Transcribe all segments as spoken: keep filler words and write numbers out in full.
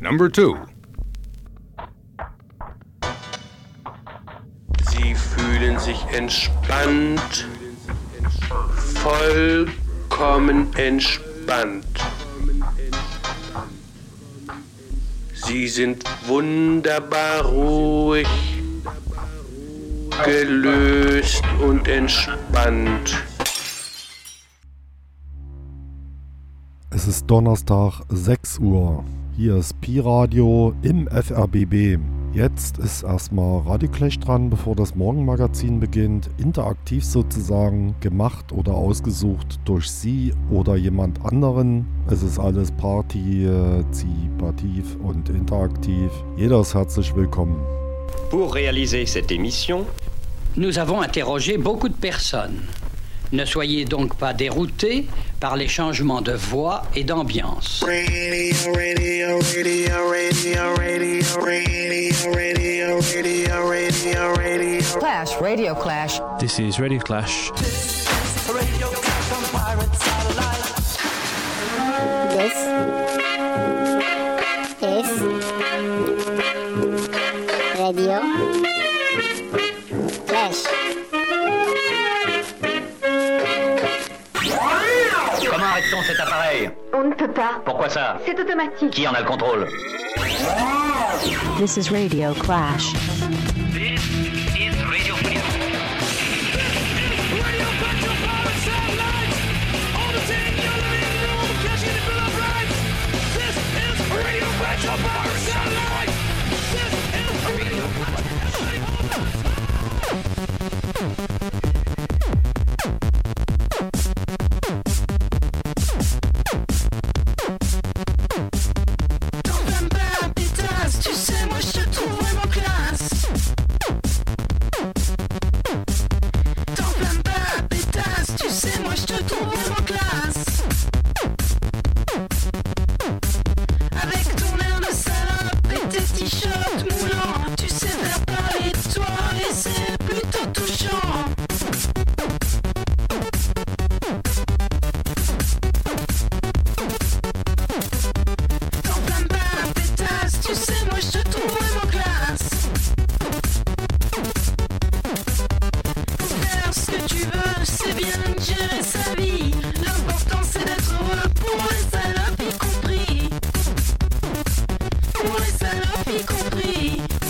Number two. Sie fühlen sich entspannt, vollkommen entspannt. Sie sind wunderbar ruhig, gelöst und entspannt. Es ist Donnerstag, sechs Uhr. Hier ist Pi-Radio im F R B B. Jetzt ist erstmal Radioclash dran, bevor das Morgenmagazin beginnt. Interaktiv sozusagen, gemacht oder ausgesucht durch Sie oder jemand anderen. Es ist alles partizipativ und interaktiv. Jeder ist herzlich willkommen. Pour réaliser cette émission, nous avons interrogé beaucoup de personnes. Ne soyez donc pas déroutés par les changements de voix et d'ambiance. Radio, radio, radio, radio, radio, radio, radio, radio, radio, radio. Clash, Radio Clash. This is Radio Clash. This is Radio Clash on Pirate Satellite. This is Radio Clash. Comment arrête-t-on cet appareil? On ne peut pas. Pourquoi ça? C'est automatique. Qui en a le contrôle? This is Radio Clash. This is Radio Clash. Radio Clash on Pirate Satellite. All the team in your living room, cashing the bill of rights. This is Radio Clash on Pirate Satellite. This is Radio Clash. Tu sais, moi je te trouve vraiment classe. T'en plains pas, pétasse. Tu sais, moi je te trouve vraiment classe. Avec ton air de salope et tes t-shirts moulants, tu sais faire parler de toi et c'est plutôt touchant. T'en plains pas, pétasse. Tu sais, moi je te trouve vraiment classe. Faire ce que tu veux, c'est bien de gérer sa vie. L'important c'est d'être heureux pour les salopes y compris. Pour les salopes y compris.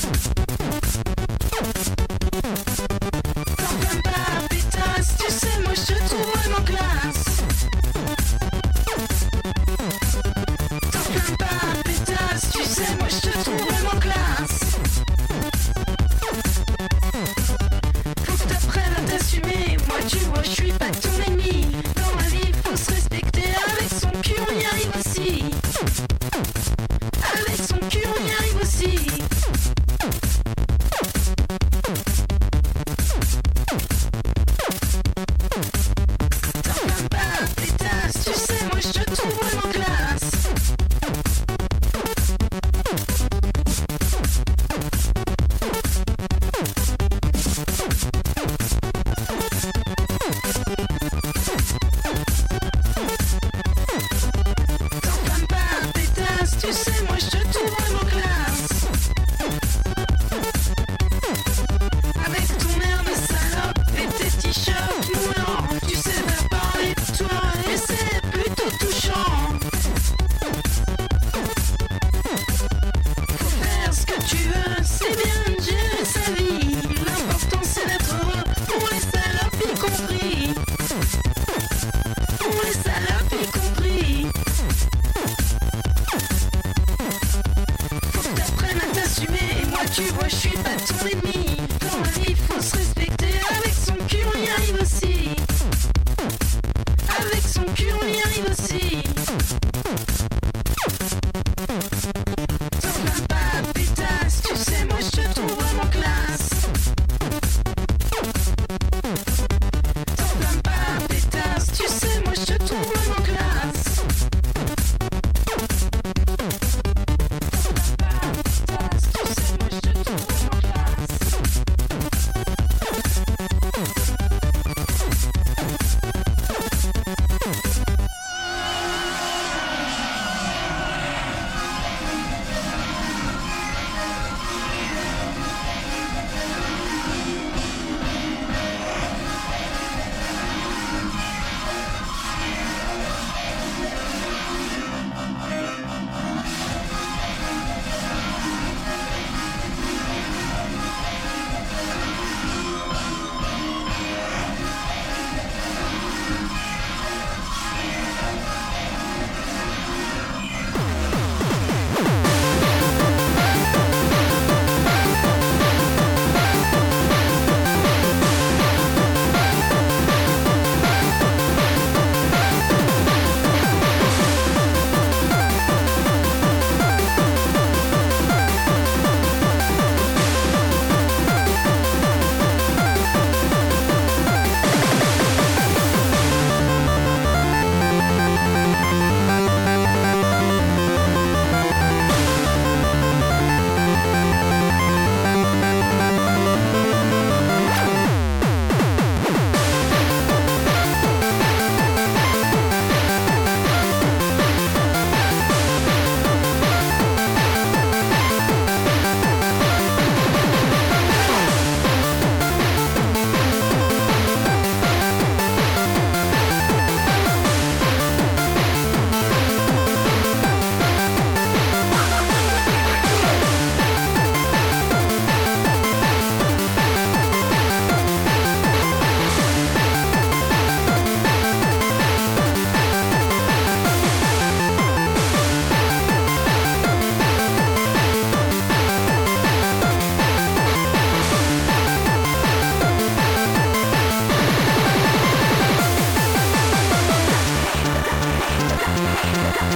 T'en plains pas, pétasse. Tu sais, moi je te trouve vraiment classe. T'en plains pas, pétasse. Tu sais, moi je te trouve vraiment classe. Faut que t'apprennes à t'assumer. Moi tu vois je suis pas ton ennemi. Dans ma vie faut se respecter. Avec son cul on y arrive aussi. Avec son cul on y arrive aussi. T'en plains pas, pétasse. Tu sais moi je te trouve vraiment classe. T'en plains pas, pétasse. Tu sais moi je te trouve vraiment classe. Avec ton air de salope et tes t-shirts moulants, tu sais faire parler de toi et c'est plutôt touchant. Faut faire ce que tu veux, c'est bien de gérer sa vie. L'important c'est d'être heureux pour les salopes y compris. Pour les salopes y compris. Faut que t'apprennes à t'assumer. Moi tu vois je suis pas ton ennemi. Dans la vie faut se respecter. Avec son cul on y arrive aussi. Avec son cul on y arrive aussi. T'en plains pas, pétasse. Tu sais moi je te trouve vraiment classe. T'en plains pas, pétasse. Tu sais moi je te trouve vraiment classe. T'en plains pas, pétasse. Tu sais moi je te trouve vraiment classe.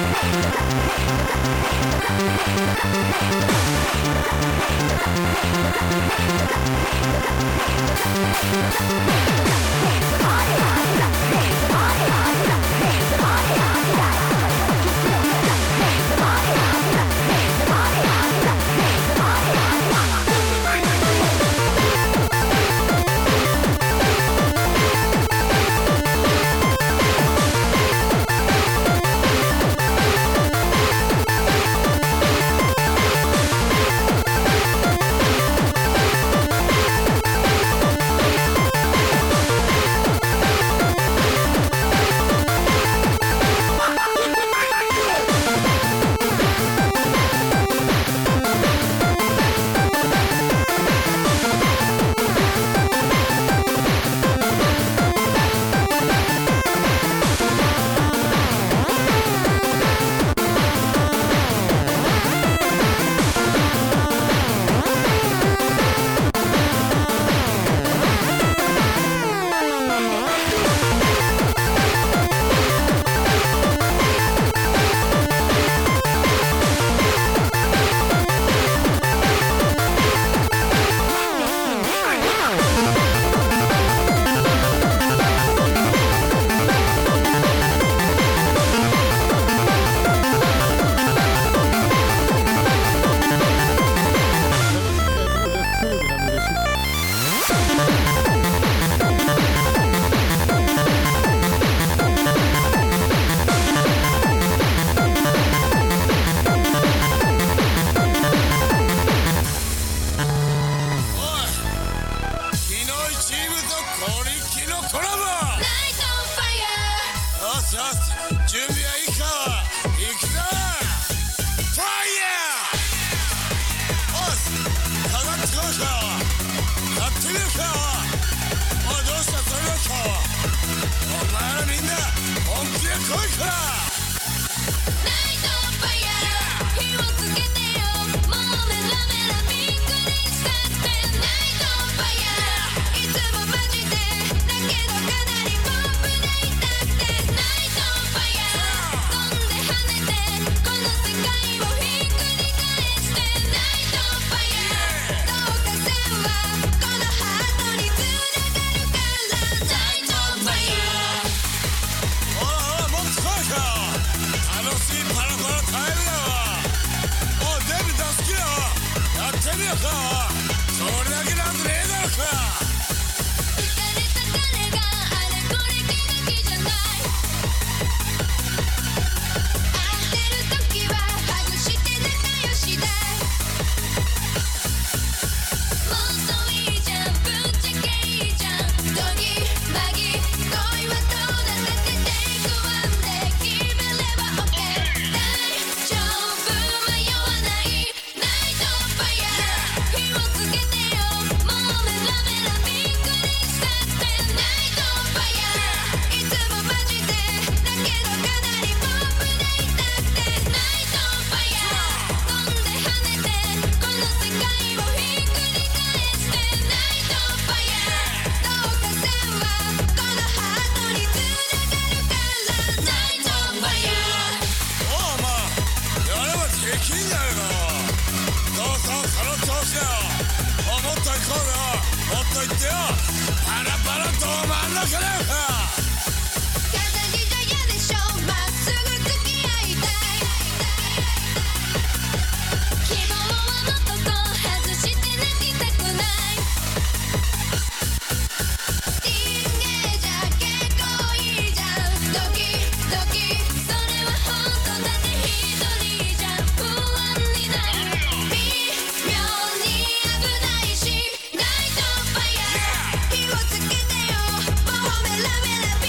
火をつけてよもうメラメラ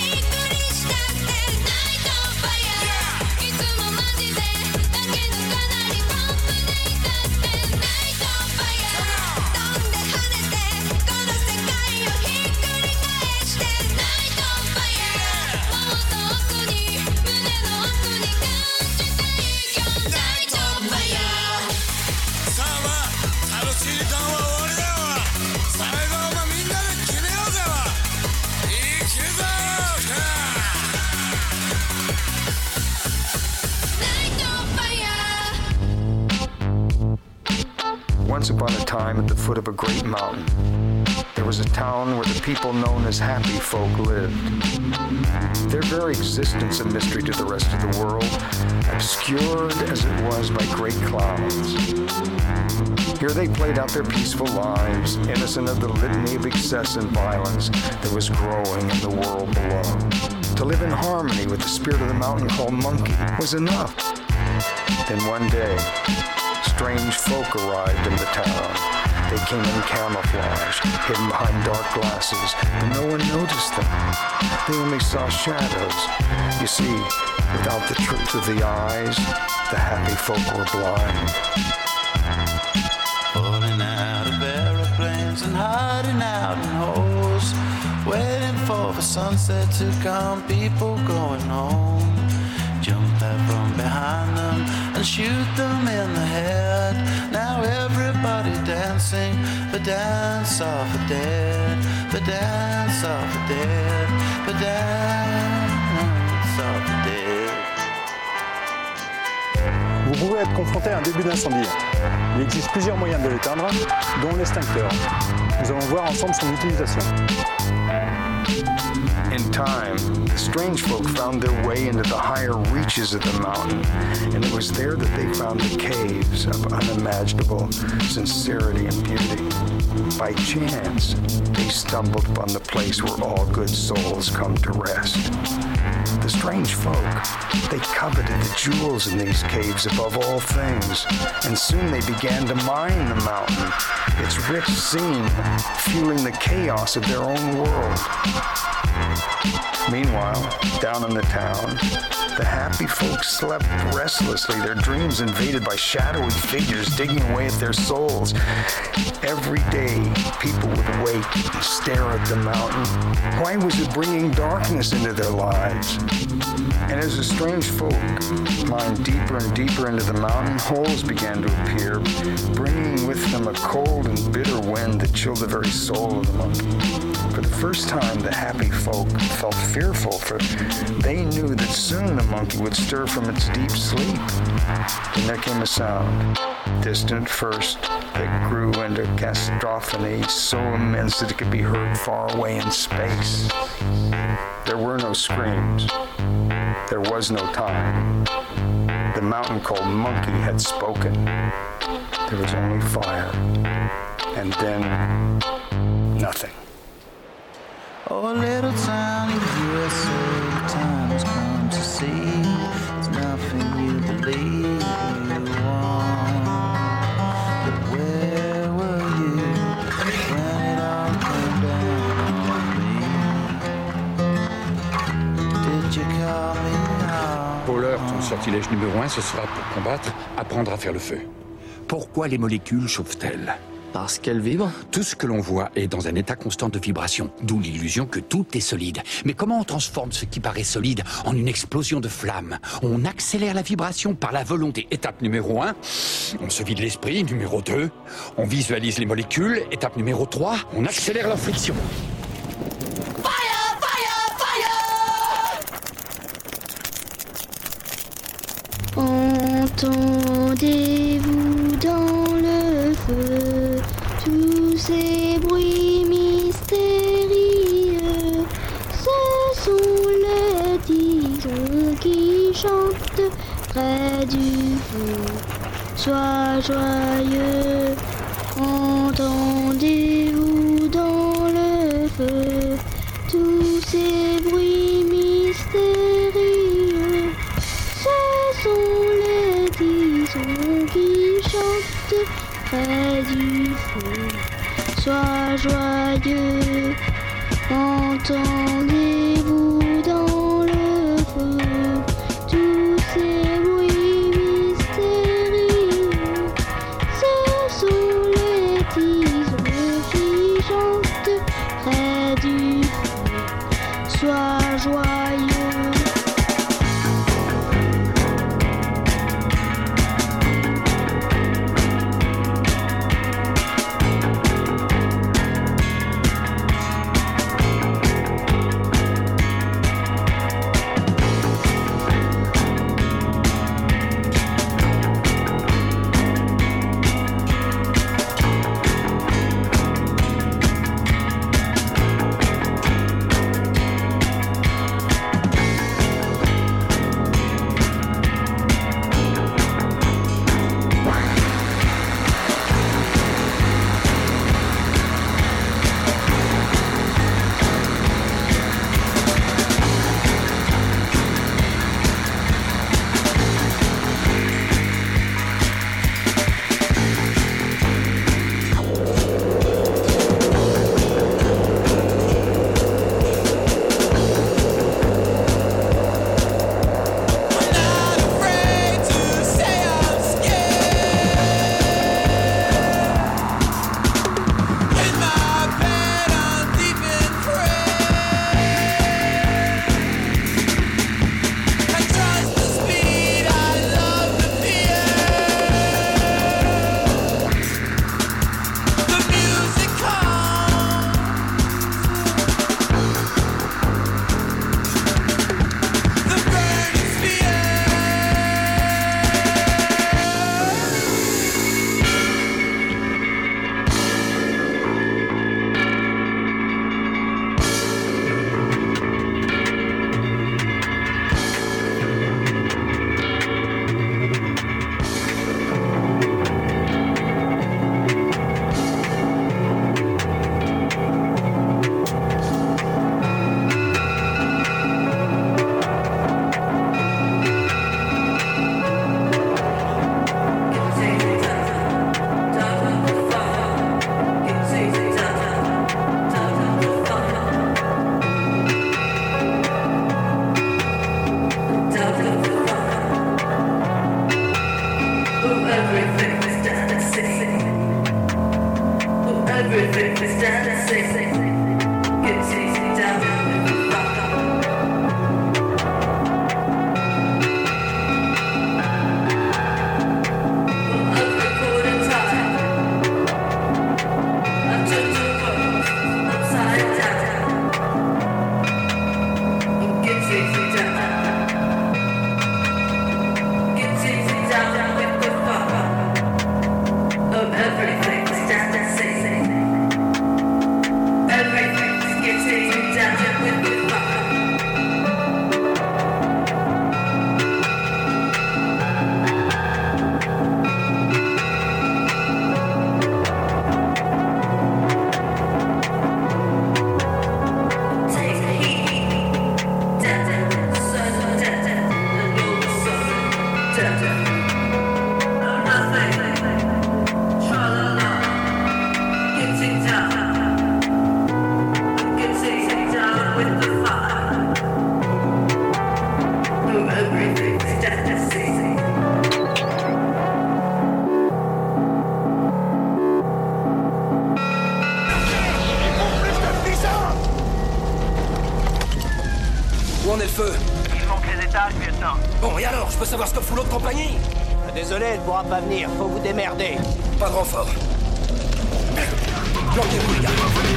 once upon a time at the foot of a great mountain, there was a town where the people known as happy folk lived. Their very existence a mystery to the rest of the world, obscured as it was by great clouds. Here they played out their peaceful lives, innocent of the litany of excess and violence that was growing in the world below. To live in harmony with the spirit of the mountain called Monkey was enough. Then one day, strange folk arrived in the town. They came in camouflage, hidden behind dark glasses, but no one noticed them. They only saw shadows. You see, without the truth of the eyes, the happy folk were blind. Falling out of aeroplanes and hiding out in holes, waiting for the sunset to come, people going home. Jump out from behind them and shoot them in the head. Now everybody dancing the dance of the dead, the dance of the dead, the dance of the dead. Vous pouvez être confronté à un début d'incendie. Il existe plusieurs moyens de l'éteindre, dont l'extincteur. Nous allons voir ensemble son utilisation. In time, the strange folk found their way into the higher reaches of the mountain, and it was there that they found the caves of unimaginable sincerity and beauty. By chance, they stumbled upon the place where all good souls come to rest. The strange folk, they coveted the jewels in these caves above all things, and soon they began to mine the mountain, its rich scene fueling the chaos of their own world. Meanwhile, down in the town, the happy folks slept restlessly, their dreams invaded by shadowy figures digging away at their souls. Every day, people would wake and stare at the mountain. Why was it bringing darkness into their lives? And as the strange folk climbed deeper and deeper into the mountain, holes began to appear, bringing with them a cold and bitter wind that chilled the very soul of the monkey. For the first time, the happy folk felt fearful, for they knew that soon the monkey would stir from its deep sleep. Then there came a sound, distant at first, that grew into cacophony so immense that it could be heard far away in space. There were no screams. There was no time. The mountain called Monkey had spoken. There was only fire. And then, nothing. Oh, a little town in the U S A, time has come to see. There's nothing you believe you want. But where were you when it all came down on me? Did you call me out? Pour l'heure, ton sortilège numéro un, ce sera pour combattre, apprendre à faire le feu. Pourquoi les molécules chauffent-elles ? Parce qu'elle vibre. Tout ce que l'on voit est dans un état constant de vibration, d'où l'illusion que tout est solide. Mais comment on transforme ce qui paraît solide en une explosion de flammes ? On accélère la vibration par la volonté. Étape numéro un, on se vide l'esprit. Numéro deux, on visualise les molécules. Étape numéro trois, on accélère leur friction. Fire, fire, fire! Entendez-vous dans le feu tous ces bruits mystérieux? Ce sont les tisons qui chantent près du feu. Sois joyeux, entendez-vous dans le feu tous ces bruits mystérieux? Ce sont les tisons qui chantent près du feu. Sois joyeux, entendez-vous dans le feu tous ces bruits mystérieux? Ce sont les tisons qui chantent près du feu. Sois joyeux. Où en est le feu? Il manque les étages, lieutenant. Bon, et alors? Je peux savoir ce que fout l'autre compagnie? Désolé, elle pourra pas venir. Faut vous démerder. Pas de renfort. Planquez-vous, les gars.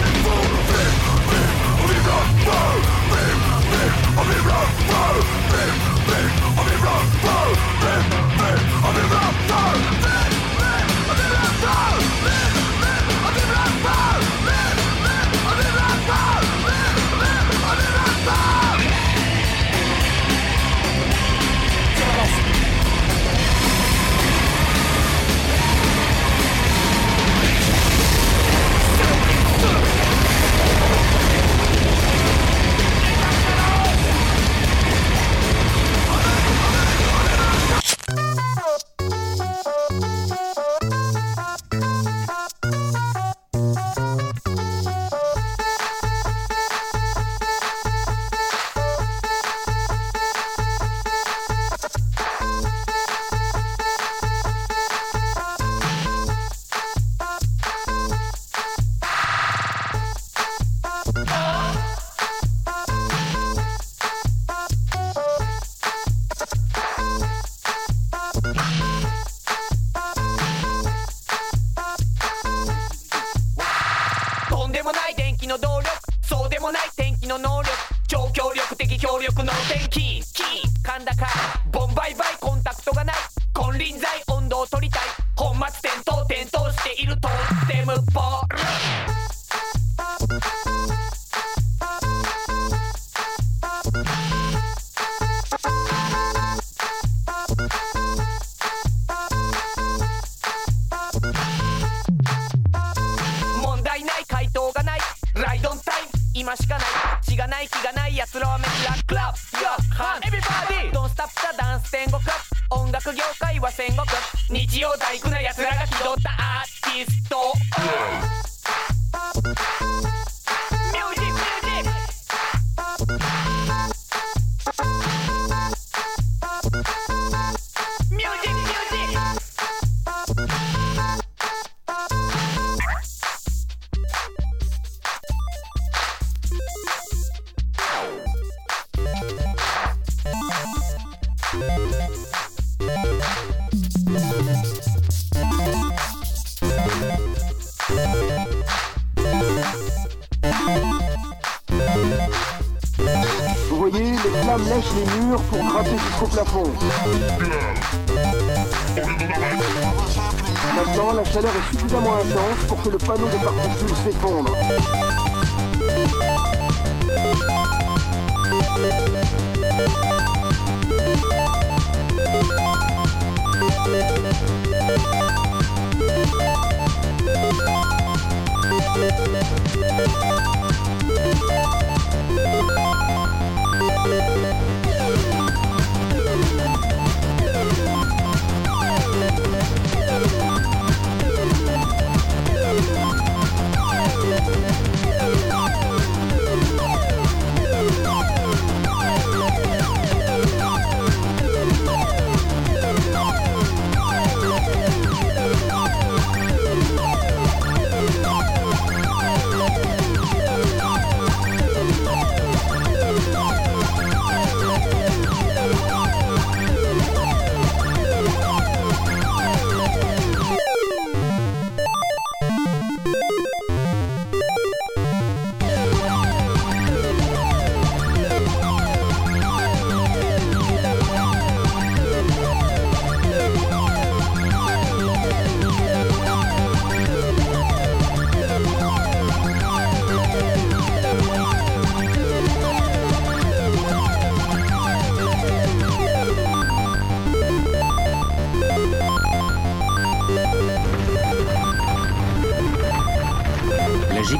Vous voyez, les flammes lèchent les murs pour grimper jusqu'au plafond. Maintenant, la chaleur est suffisamment intense pour que le panneau de particules s'effondre.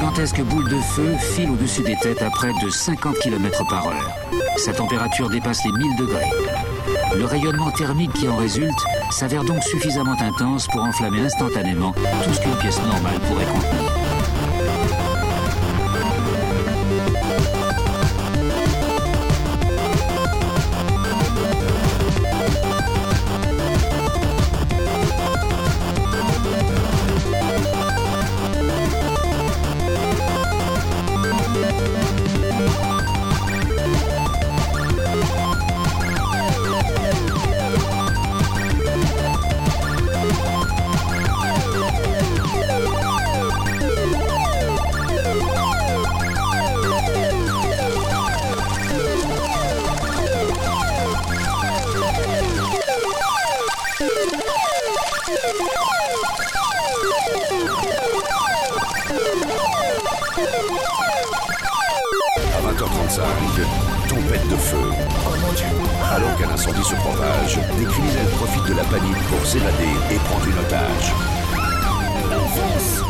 gigantesque boule de feu file au-dessus des têtes à près de cinquante kilomètres par heure. Sa température dépasse les mille degrés. Le rayonnement thermique qui en résulte s'avère donc suffisamment intense pour enflammer instantanément tout ce qu'une pièce normale pourrait contenir. Tempête de feu. Oh mon Dieu. Alors qu'un incendie se propage, des criminels profitent de la panique pour s'évader et prendre une otage. Enfonce.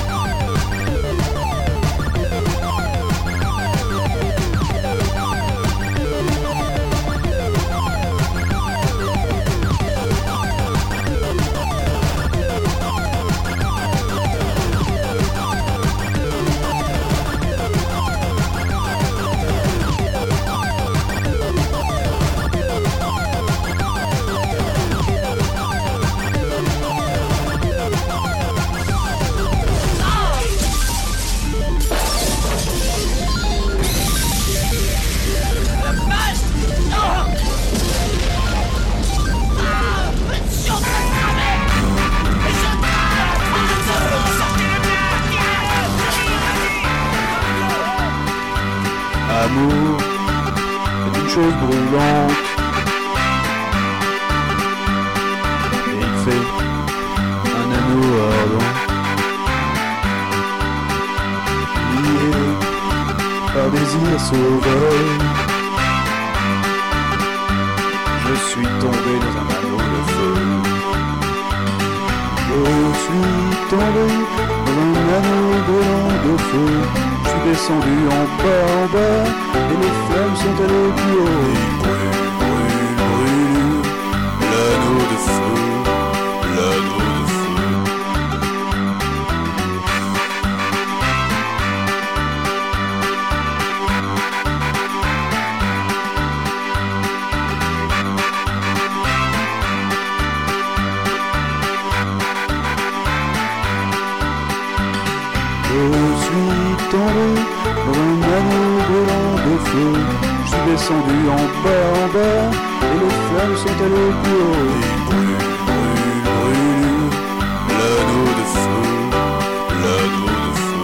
L'amour est une chose brûlante. Et il fait un anneau ardent, lié par désir sauvage. Je suis tombé dans un anneau de feu. Je suis tombé dans un anneau brûlant de feu. Je suis descendu en bas, en bas, et les flammes sont allées plus haut. Il brûle, brûle, brûle, l'anneau de feu, l'anneau de feu. Je suis tombé dans un anneau brûlant de feu. Je suis descendu en bas, en bas, et les flammes sont allées plus haut. Il brûle, brûle, brûle, l'anneau de feu, l'anneau de feu.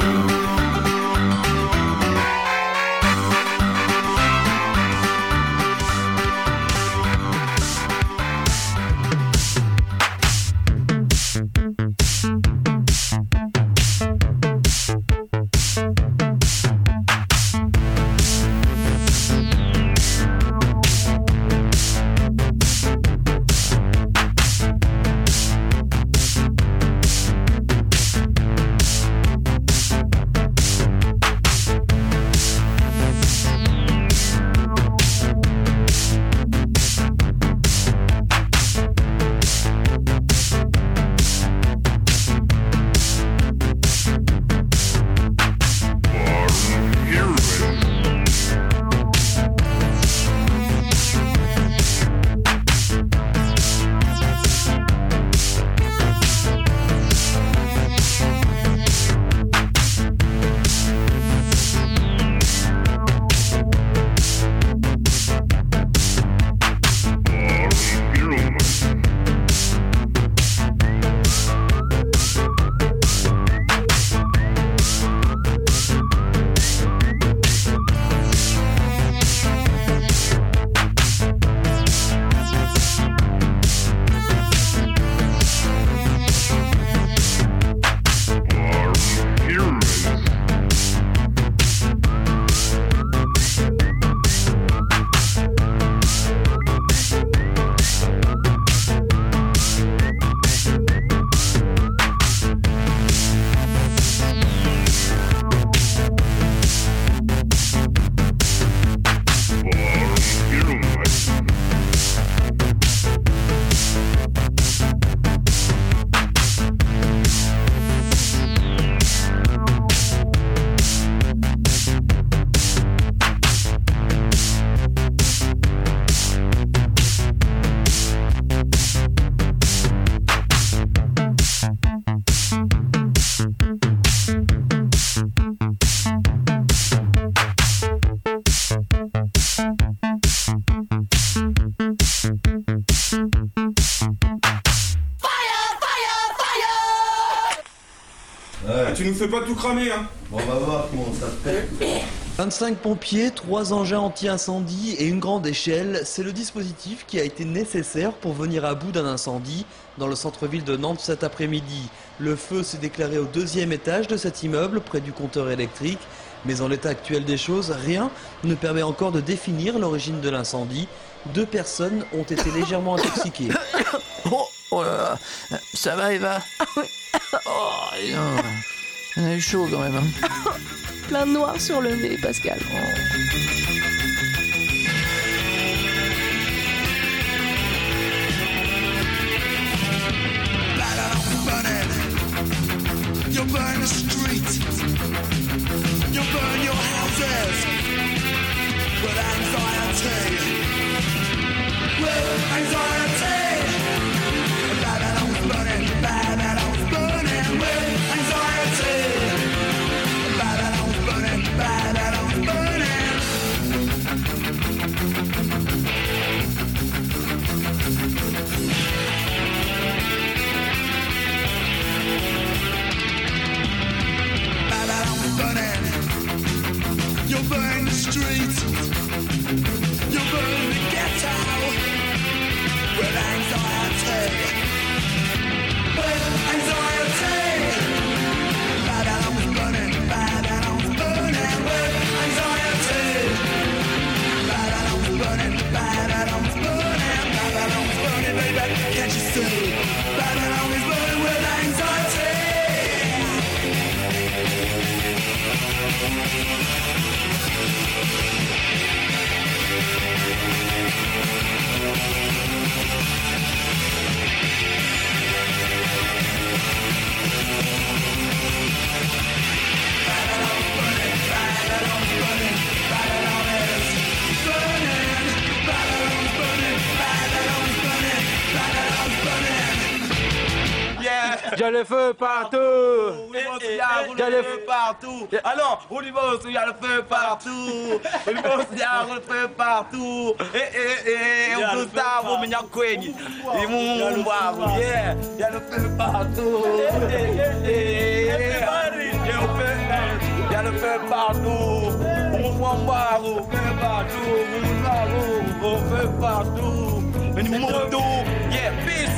Ah, tu nous fais pas tout cramer, hein. Bon, on va voir comment ça fait. vingt-cinq pompiers, trois engins anti-incendie et une grande échelle, c'est le dispositif qui a été nécessaire pour venir à bout d'un incendie dans le centre-ville de Nantes cet après-midi. Le feu s'est déclaré au deuxième étage de cet immeuble, près du compteur électrique. Mais en l'état actuel des choses, rien ne permet encore de définir l'origine de l'incendie. Deux personnes ont été légèrement intoxiquées. Oh, oh là là, ça va Eva? Oh, non. On a eu chaud quand même. Hein. Plein de noir sur le nez, Pascal. Oh. You burn the street, you burn your houses with anxiety, with anxiety. Babylon's burning, Babylon's burning with anxiety. Babylon's burning, Babylon's burning. Babylon's burning. You burn the street, you burn the ghetto with anxiety, with anxiety. Babylon's burning, Babylon's burning with anxiety. Babylon's burning, Babylon's burning, Babylon's burning, baby, can't you see? Babylon is burning with anxiety. Il y a le feu partout. Il y a le feu partout. Alors, on y va aussi, il y a le feu partout. On y va aussi, il y a le feu partout. Eh, eh, eh, on peut savoir, mais il y a quoi? Il y a le feu. Il y a le feu partout. Eh, eh, eh, il y a le feu partout. On voit voir au feu partout. On voit au feu partout. Mais nous montons, yeah, peace.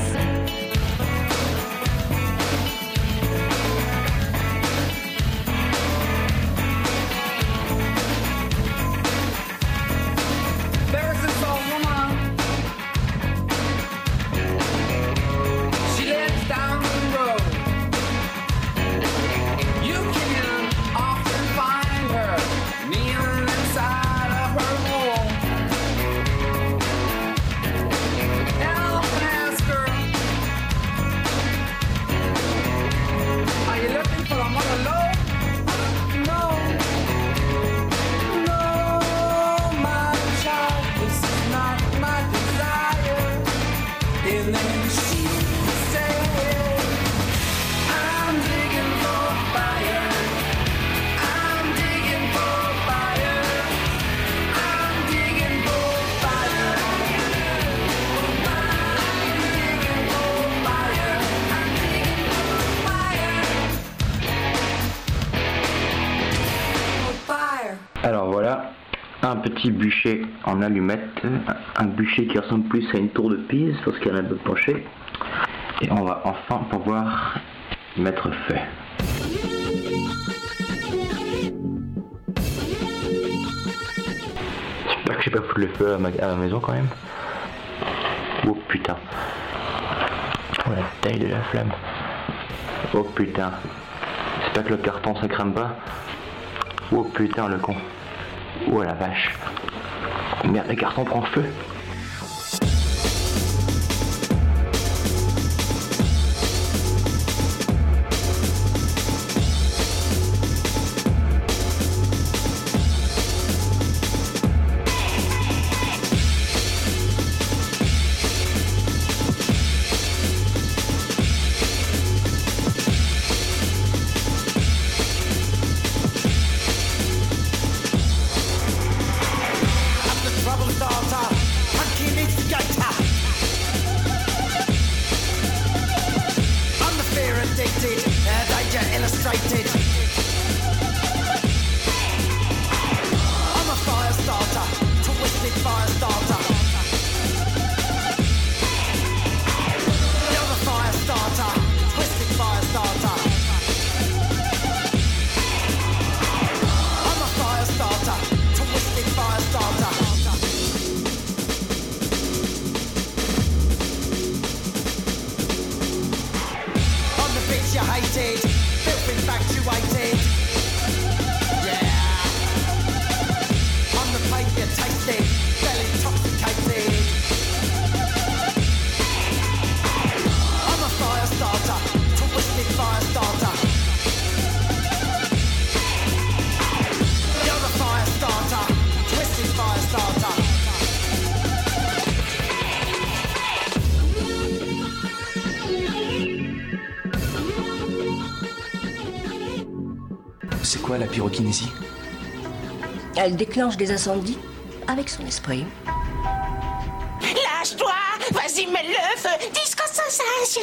Alors voilà, un petit bûcher en allumette, un bûcher qui ressemble plus à une tour de Pise parce qu'elle est un peu penchée. Et on va enfin pouvoir y mettre feu. J'espère que j'ai pas foutu le feu à ma, à ma maison quand même. Oh putain. Oh la taille de la flamme. Oh putain. J'espère que le carton ça crame pas. Oh putain le con. Oh la vache. Merde, le carton prend feu. place you hated, filth infatuated. Yeah. On the plate you tasted, fell intoxicated. I'm a fire starter, twisted fire starter. You're a fire starter, twisted fire starter. C'est quoi la pyrokinésie? Elle déclenche des incendies avec son esprit. Lâche-toi! Vas-y, mets le feu! Disco sensation!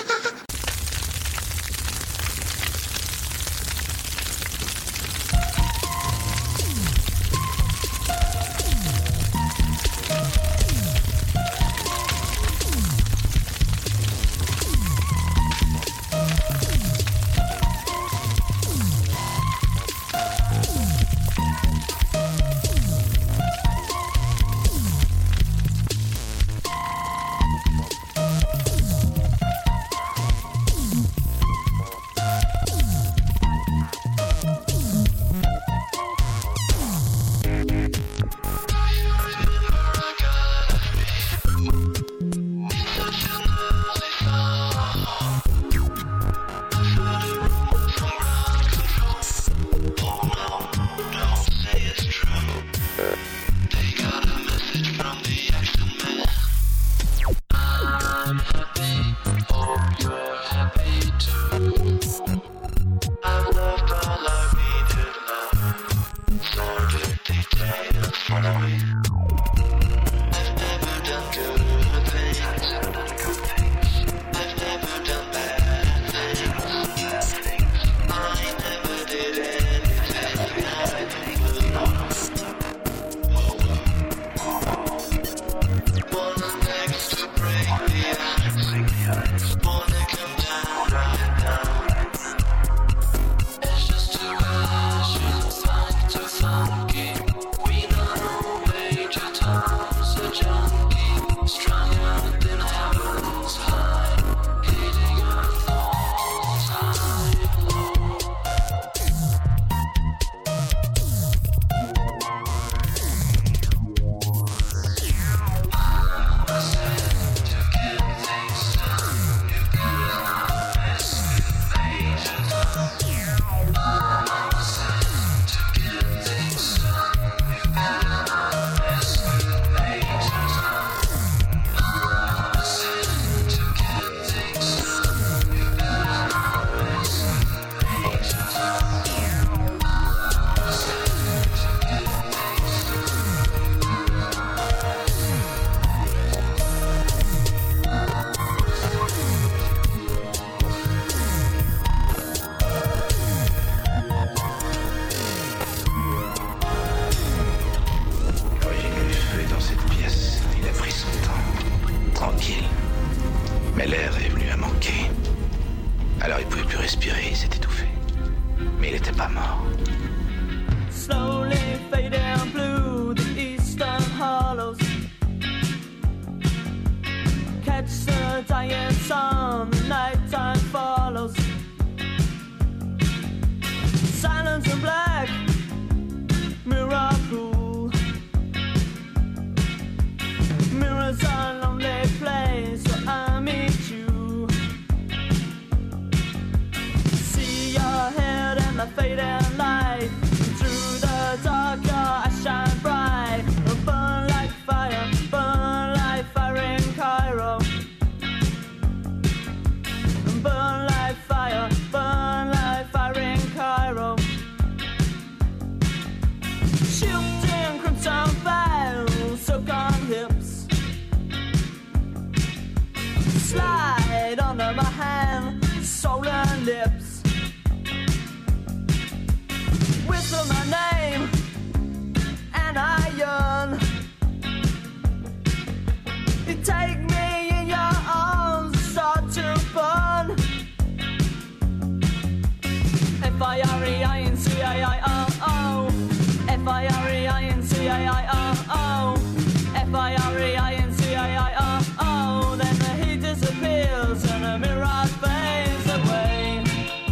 F I R E I N C A I R O, then the heat disappears and the mirage fades away.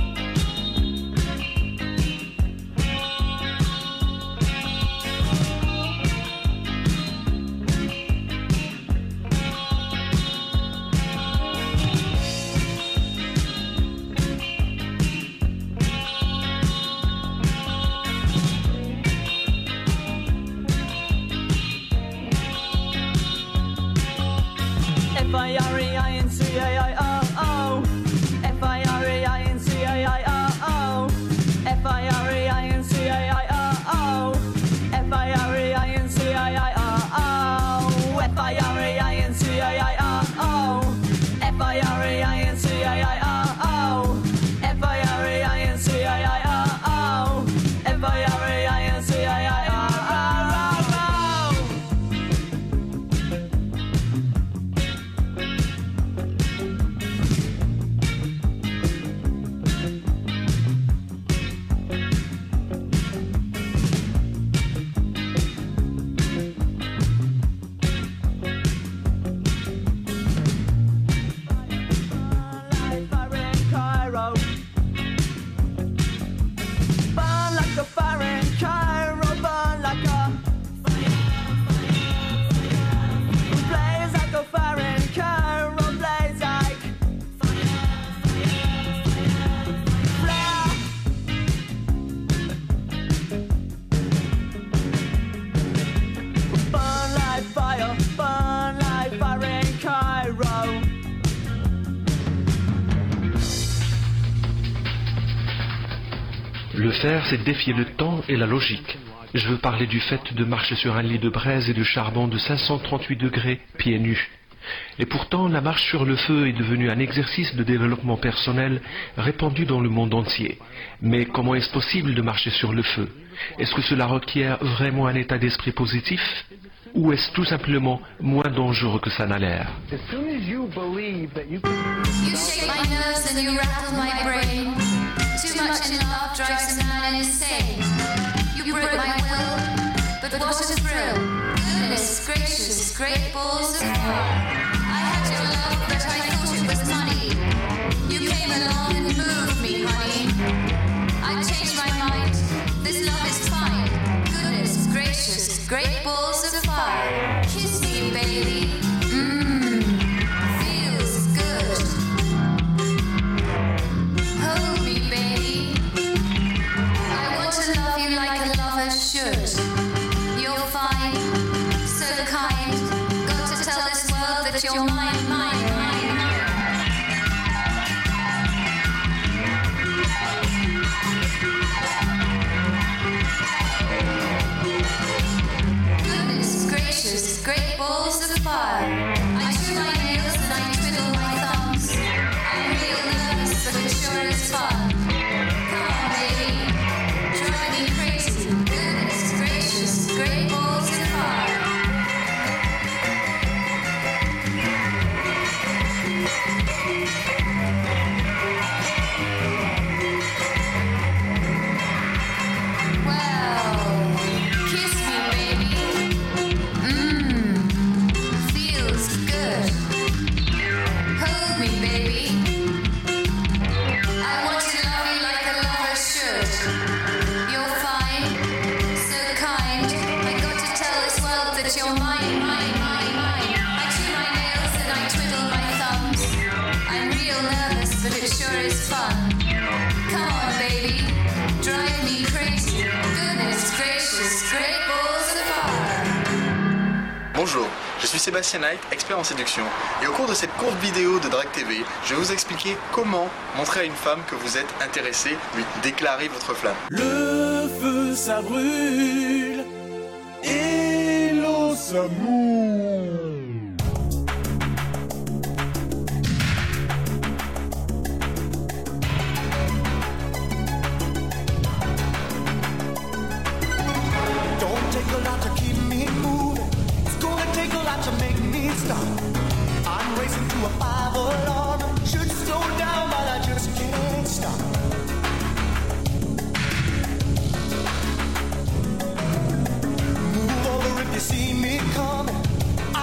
Le faire, c'est défier le temps et la logique. Je veux parler du fait de marcher sur un lit de braise et de charbon de cinq cent trente-huit degrés, pieds nus. Et pourtant, la marche sur le feu est devenue un exercice de développement personnel répandu dans le monde entier. Mais comment est-ce possible de marcher sur le feu? Est-ce que cela requiert vraiment un état d'esprit positif? Ou est-ce tout simplement moins dangereux que ça n'a l'air? As soon as you believe that you can... You shake my nerves and you rattle my brain. Too much in love drives a man insane. You broke my will, but what a thrill. Goodness gracious, great balls of fire. I had your love, but I thought it was money. You came along and moved me, honey. I changed my mind, this love is fine. Goodness gracious, great balls of fire. Kiss me, baby. Mmm, feels good. Hold me, baby. I want to love you like a lover should. You're fine, so kind. Got to tell this world that you're mine, mine, mine, mine. Goodness gracious, great balls of fire. I chew my nails and I twiddle my thumbs. I'm real nervous, but it sure is fun. Come on, baby, drive me crazy. Goodness gracious, great balls of fire. Well, kiss me, baby. Mmm, feels good. Hold me, baby. I want to love you like a lover should. You're fine, so kind. I got to tell this world that you're mine, mine, mine, mine. I chew my nails and I twiddle my thumbs. I'm real nervous, but it sure is fun. Come on, baby, drive me crazy. Goodness gracious, great balls of fire. Bonjour, je suis Sébastien Knight, expert en séduction. Et au cours de cette courte vidéo de Drag T V, je vais vous expliquer comment montrer à une femme que vous êtes intéressé, lui déclarer votre flamme. Le feu ça brûle et l'eau ça mouille. Don't take a lot to keep me moving. It's gonna take a lot to make me stop. I'm racing to a five alarm. Should slow down, but I just can't stop. Move over if you see me coming.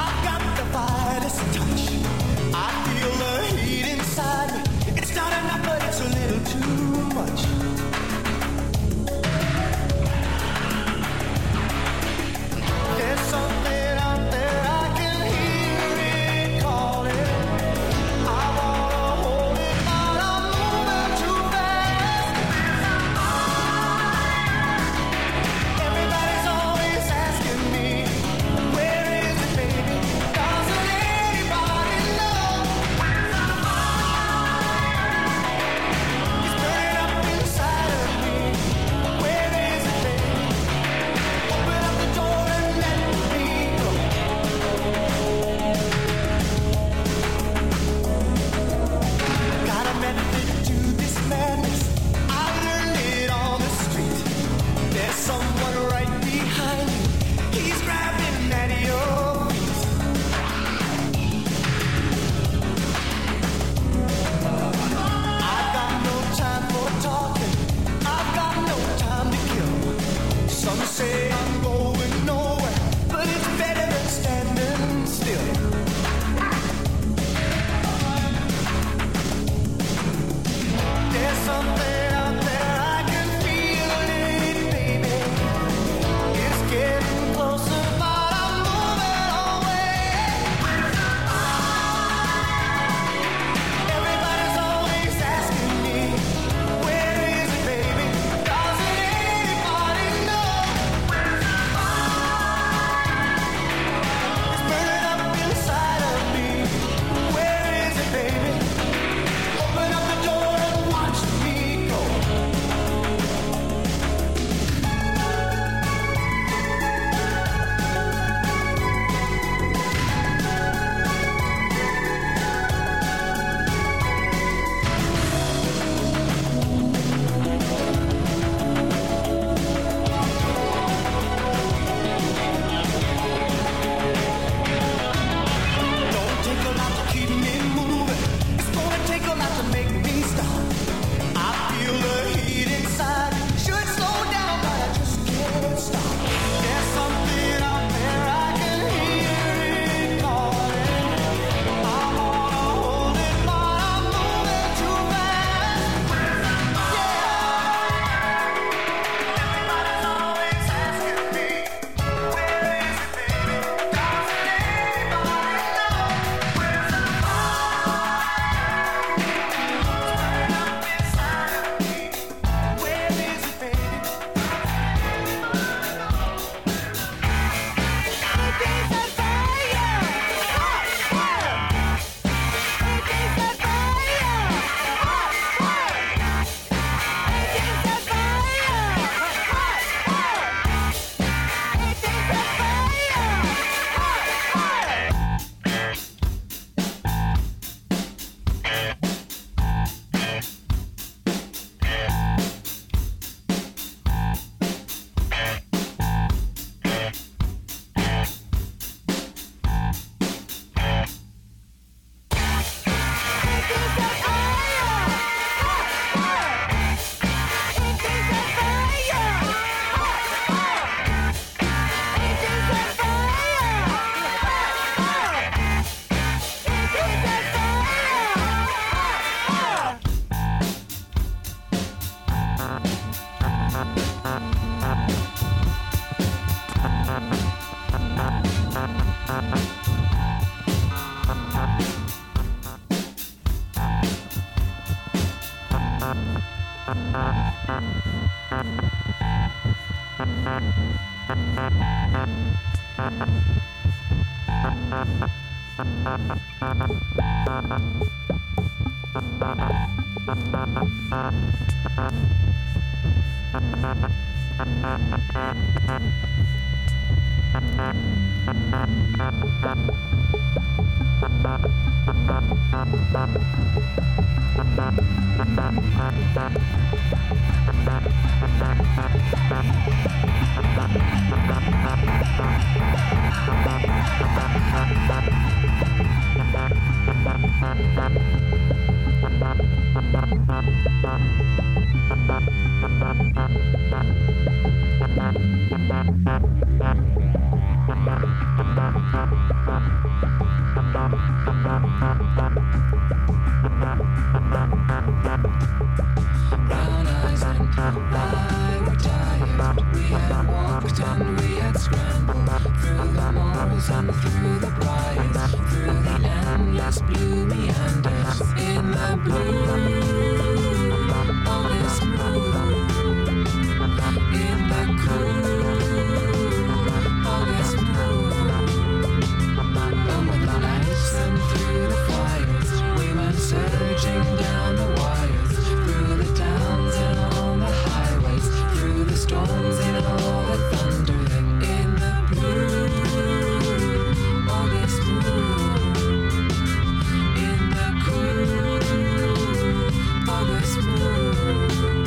Brown eyes and I were tired. We had walked and we had scrambled through the moors and through the briars, through the endless blue meanders in the blue of this moon, in the cool of this moon. Over the nights and through the fires, we went surging down the wires, through the towns and on the highways, through the storms and all the thunder, in the blue of this moon, in the cool of this moon.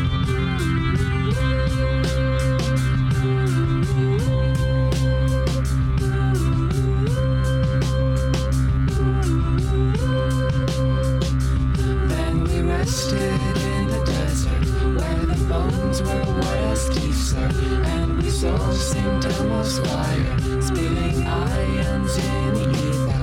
Then we rested in the desert, where the bones were white as teeth, sir, and we saw Saint Elmo's fire, spitting ions in the ether.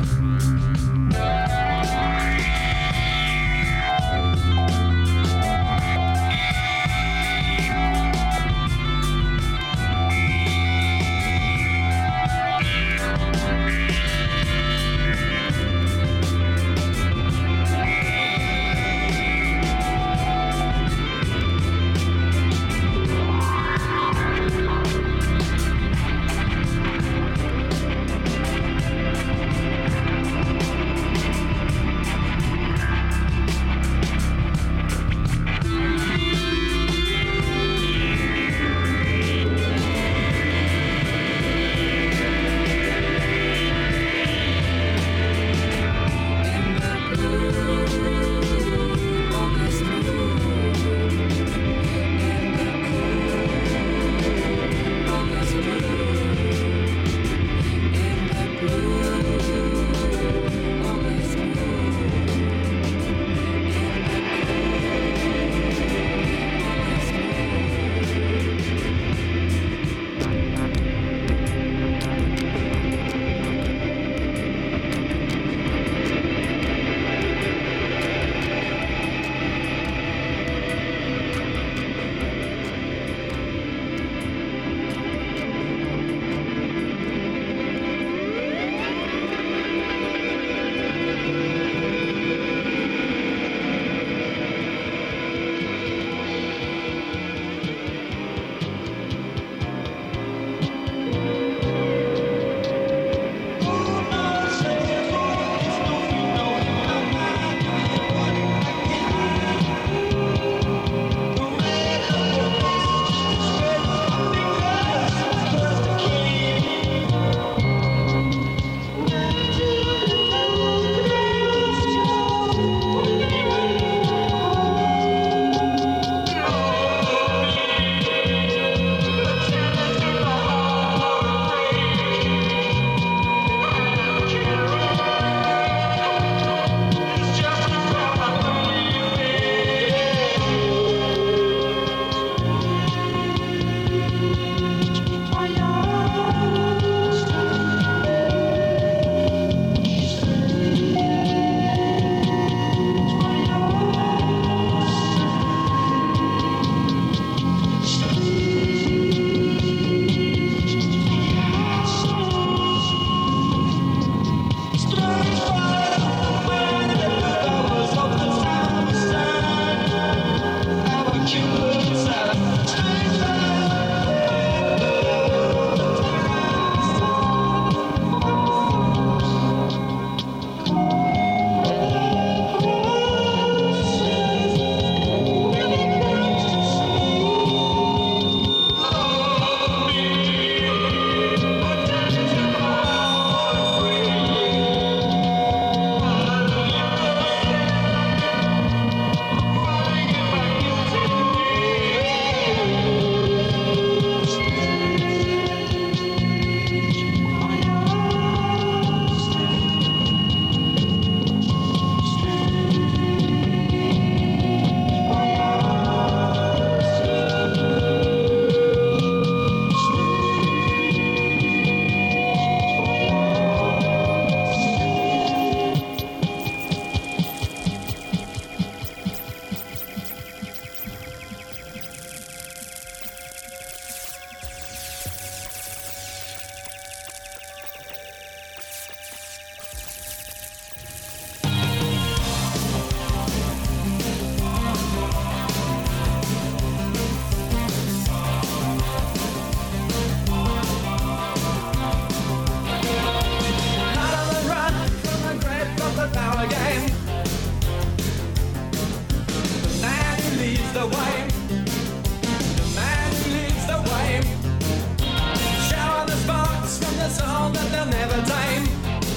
the way. The man who leads the way. Shower the sparks from the soul that they'll never tame.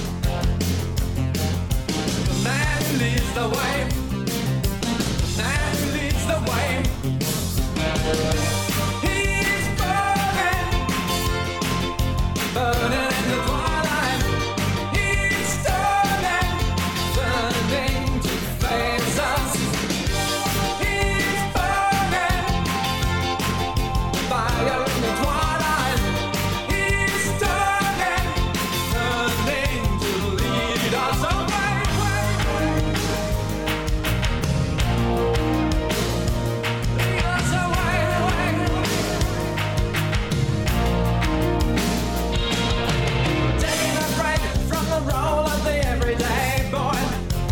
The man who leads the way. The man who leads the way. He's burning, burning in the twilight. He's turning, turning to face us. He's burning, fire in the twilight. He's turning, turning to lead us away. Lead us away, away. Taking a break from the role of the everyday boy.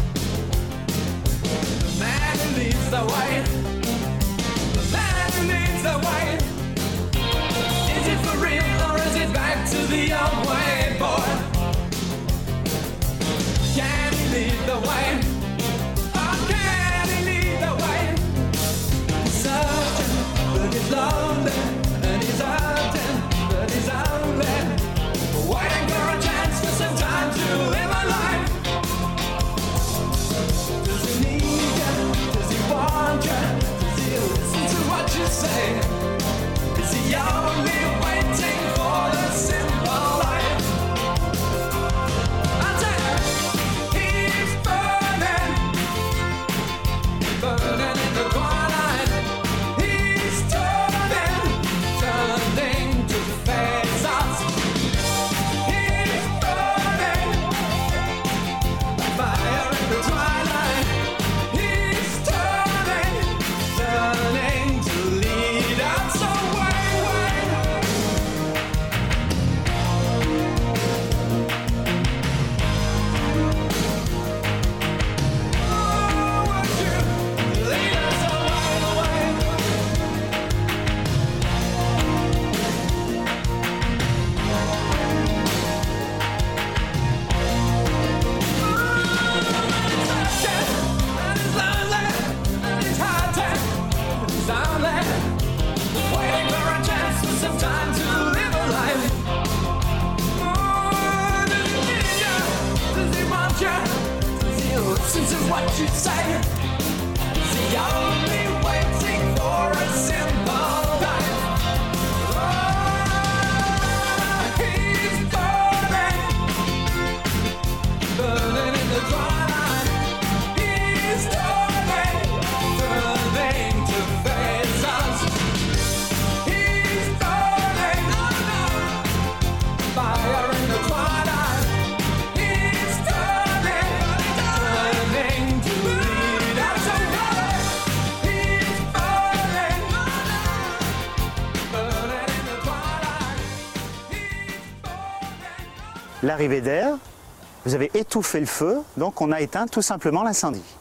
The man who leads the way. The man who leads the way. Is it for real or is it back to the old way, boy? Can he lead the way? Oh, can he lead the way? He's searching, but he's lonely, and he's hurting, but he's only waiting for a chance for some time to live a life. Does he need you? Does he want you? Does he listen to what you say? Is he only waiting for the simple life? I tell you, he's burning, burning in the twilight. He's turning, turning to face us. He's burning, fire in the twilight. He's turning, turning to lead us away. Oh, would you lead us away, away? Waiting for a chance for some time to live a life. Oh, does he need you? Does he want you? Does he listen to what you say? Is he only waiting for a simple life? Oh, he's burning, burning in the twilight. He's turning, turning to face us. He's burning, fire in the twilight. He's turning, turning to lead us away. He's burning, burning in the twilight. L'arrivée d'air, vous avez étouffé le feu, donc on a éteint tout simplement l'incendie.